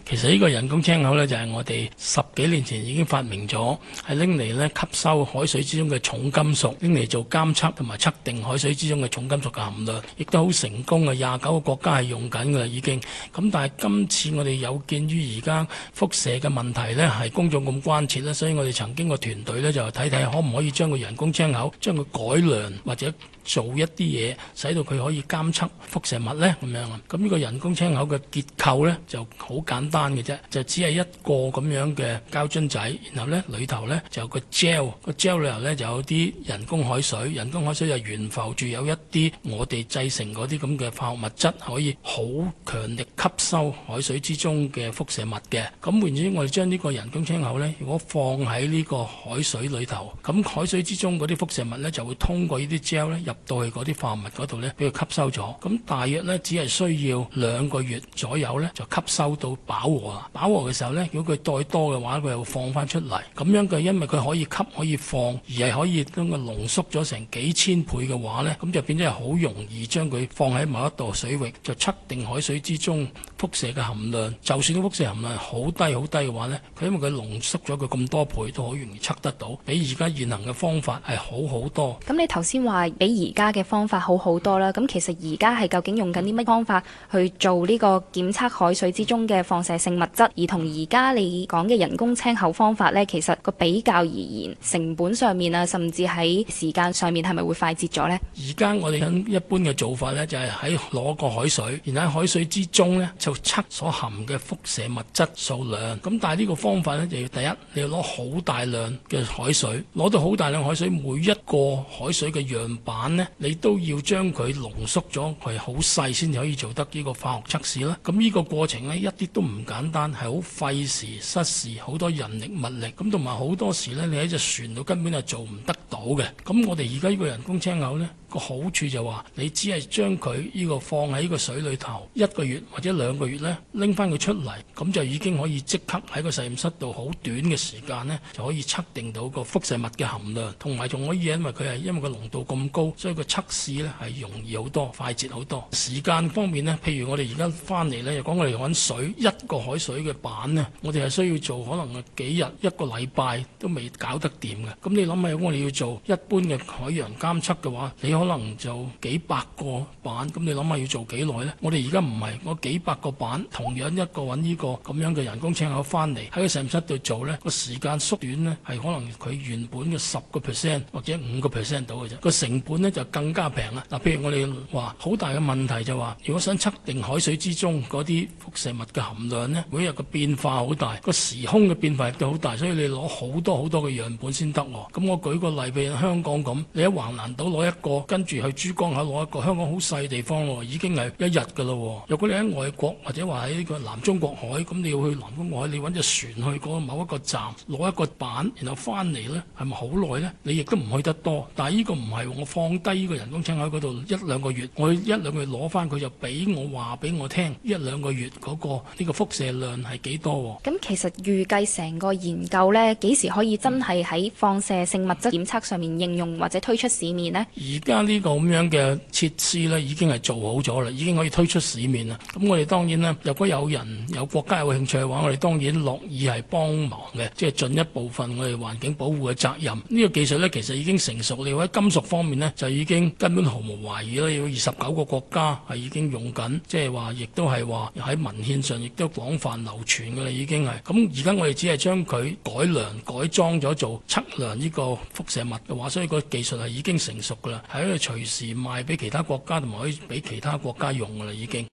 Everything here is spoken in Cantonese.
其實呢個人工青口呢，就係我哋10幾年前已經發明咗，係拎嚟呢吸收海水之中嘅重金屬，拎嚟做監測同埋測定海水之中嘅重金屬嘅含量，亦都好成功嘅。29個國家係用緊㗎啦，已經。咁但係今次我哋有見於而家輻射嘅問題呢，係公眾咁關切啦，所以我哋曾經個團隊呢，就睇睇可唔可以將個人工青口將佢改良或者做一啲嘢，使到佢可以監測輻射物呢。咁樣啊。咁呢個人工青口嘅結構呢，就好簡單嘅啫，就只係一個咁樣嘅膠樽仔，然後呢裏頭呢，就有個 gel， 個 gel 裏頭呢，就有啲人工海水，人工海水就懸浮住有一啲我哋製成嗰啲咁嘅化學物質，可以好強力吸收海水之中嘅輻射物嘅。咁換言之，我哋將呢個人工青口呢，如果放喺呢個海水裏頭，咁海水之中嗰啲輻射物呢，就會通過呢啲 gel 呢入到去嗰啲化合物嗰度呢，俾佢吸收咗。咁大約呢，只係需要2個月左右呢，就吸收到飽和啦。飽和嘅時候呢，如果佢再多嘅話，佢又放翻出嚟。咁樣嘅，因為佢可以吸可以放，而係可以將佢濃縮咗成幾千倍嘅話呢，咁就變咗係好容易將佢放喺某一度水域，就測定海水之中輻射嘅含量。就算啲輻射含量好低好低嘅話呢，佢因為佢濃縮咗佢咁多倍，都好容易測得到，比而家現行嘅方法係好好多。 咁你頭先話比而家嘅方法好好多啦，咁其實而家係究竟用緊啲乜方法去做呢個檢測海水之中嘅放射性物質，而同而家你講嘅人工青口方法呢，其實個比較而言，成本上面啊，甚至喺時間上面係咪會快捷咗呢？ 而家我哋一般嘅做法呢，就係喺攞個海水，然後喺海水之中呢，就測所含嘅輻射物質數量。咁但係呢個方法呢，就要第一你要攞好大量嘅海水，攞到好大量海水，每一個海水嘅樣板呢，你都要將佢濃縮咗，佢好細先至可以做得呢個化學測試啦。咁呢個過程呢，一啲都唔簡單，係好費時失事，好多人力物力。咁同埋好多時呢，你喺隻船度根本係做唔得到嘅。咁我哋而家呢個人工青口呢，個好處就話你只係將佢呢個放喺呢個水裏頭1個月或者2個月呢，拎翻佢出嚟，咁就已經可以即刻喺個實驗室度好短嘅時間呢，就可以測定到個輻射物嘅含量，同埋仲可以因為個濃度咁高，所以個測試呢係容易好多，快捷好多。時間方面呢，譬如我哋而家翻嚟呢，又講我哋揾水1個海水嘅板呢，我哋係需要做可能幾日1個禮拜都未搞得掂嘅。咁你諗下，如果我哋要做一般嘅海洋監測嘅話，你可能就幾百個板，咁你諗下要做幾耐呢？我哋而家唔係，我幾百個板，同樣一個揾呢個咁樣嘅人工青口翻嚟喺個實驗室度做呢，個時間縮短呢，係可能佢原本嘅10% 或者5% 到嘅啫，個成本呢就更加平啦。嗱，譬如我哋話好大嘅問題就話，如果想測定海水之中嗰啲輻射物嘅含量呢，每日嘅變化好大，個時空嘅變化亦都好大，所以你攞好多好多嘅樣本先得。咁我舉個例，譬如香港咁，你喺橫瀾島攞一個，跟住去珠江口攞一個，香港好細地方喎，已經係1日㗎咯。如果你喺外國或者話喺呢個南中國海，咁你要去南中國海，你揾隻船去嗰某一個站攞一個板，然後翻嚟呢，係咪好耐呢？你亦都唔去得多。但係呢個唔係，我放低呢個人工青口喺嗰度1-2個月，我1-2個月攞翻佢就俾我話俾我聽，1-2個月嗰個呢個輻射量係幾多。 咁其實預計成個研究呢，幾時可以真係喺放射性物質檢測上面應用或者推出市面呢？ 而家呢個咁樣嘅設施呢，已經係做好咗啦，已經可以推出市面啦。咁我哋當然呢，如果有人有國家有興趣嘅話，我哋當然樂意係幫忙嘅，即係盡一部分我哋環境保護嘅責任。呢個技術呢，其實已經成熟，你喺金屬方面呢，就已經根本毫無懷疑啦。有29個國家係已經用緊，即係話亦都係話喺文獻上亦都廣泛流傳㗎啦，已經係。咁而家我哋只係將佢改良改裝咗做測量呢個輻射物嘅話，所以個技術係已經成熟㗎啦，係可以隨時賣俾其他國家，同埋可以俾其他國家用㗎啦，已經。